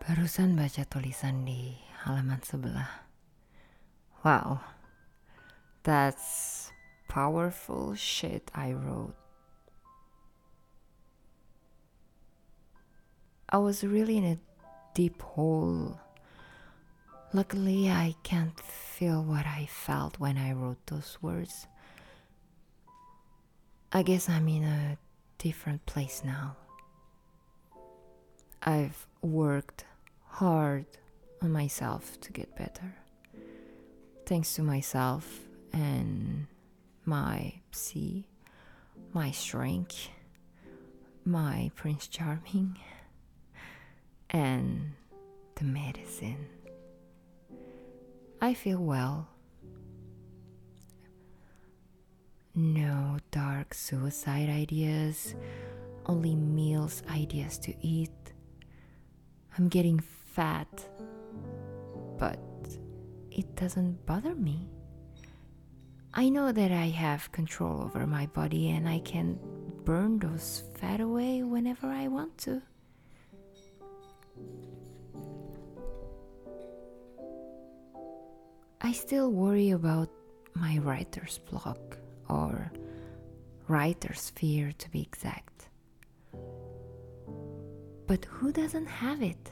Barusan baca tulisan di halaman sebelah. Wow, that's powerful shit I wrote. I was really in a deep hole. Luckily, I can't feel what I felt when I wrote those words. I guess I'm in a different place now. I've worked hard on myself to get better. Thanks to myself and my psy, my shrink, my Prince Charming, and the medicine. I feel well. No dark suicide ideas, only meals ideas to eat. I'm getting fat, but it doesn't bother me. I know that I have control over my body and I can burn those fat away whenever I want to. I still worry about my writer's block, or writer's fear to be exact. But who doesn't have it?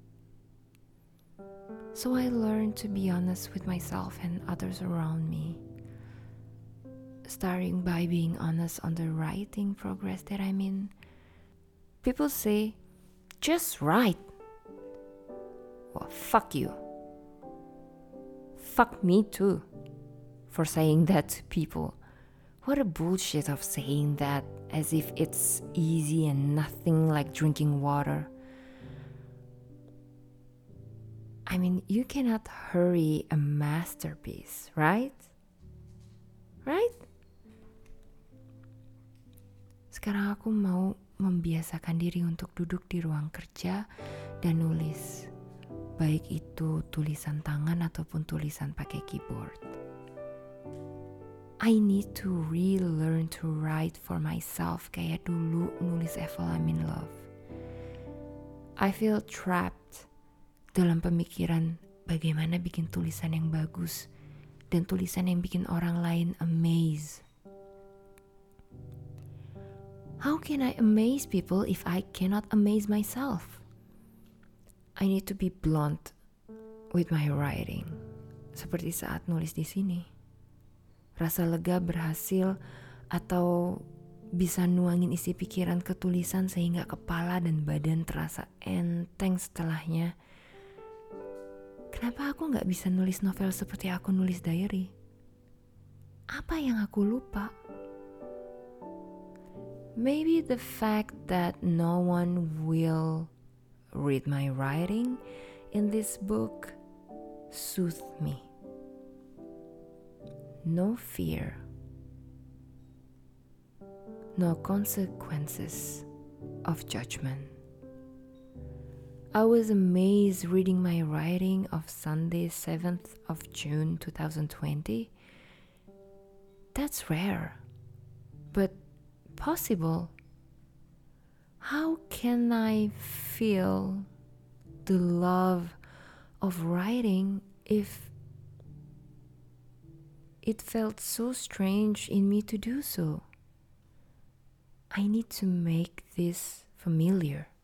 So I learned to be honest with myself and others around me, starting by being honest on the writing progress that I'm in. People say, just write. Well, fuck you. Fuck me too for saying that to people. What a bullshit of saying that as if it's easy and nothing like drinking water. I mean, you cannot hurry a masterpiece, right? Right? Sekarang aku mau membiasakan diri untuk duduk di ruang kerja dan nulis. Baik itu tulisan tangan ataupun tulisan pakai keyboard. I need to relearn to write for myself kayak dulu nulis Evel I'm in Love. I feel trapped dalam pemikiran bagaimana bikin tulisan yang bagus dan tulisan yang bikin orang lain amaze. How can I amaze people if I cannot amaze myself? I need to be blunt with my writing, seperti saat nulis di sini. Rasa lega berhasil atau bisa nuangin isi pikiran ke tulisan sehingga kepala dan badan terasa enteng setelahnya. Kenapa aku gak bisa nulis novel seperti aku nulis diary? Apa yang aku lupa? Maybe the fact that no one will read my writing in this book soothed me. No fear. No consequences of judgment. I was amazed reading my writing of Sunday 7th of June 2020. That's rare, but possible. How can I feel the love of writing if it felt so strange in me to do so? I need to make this familiar.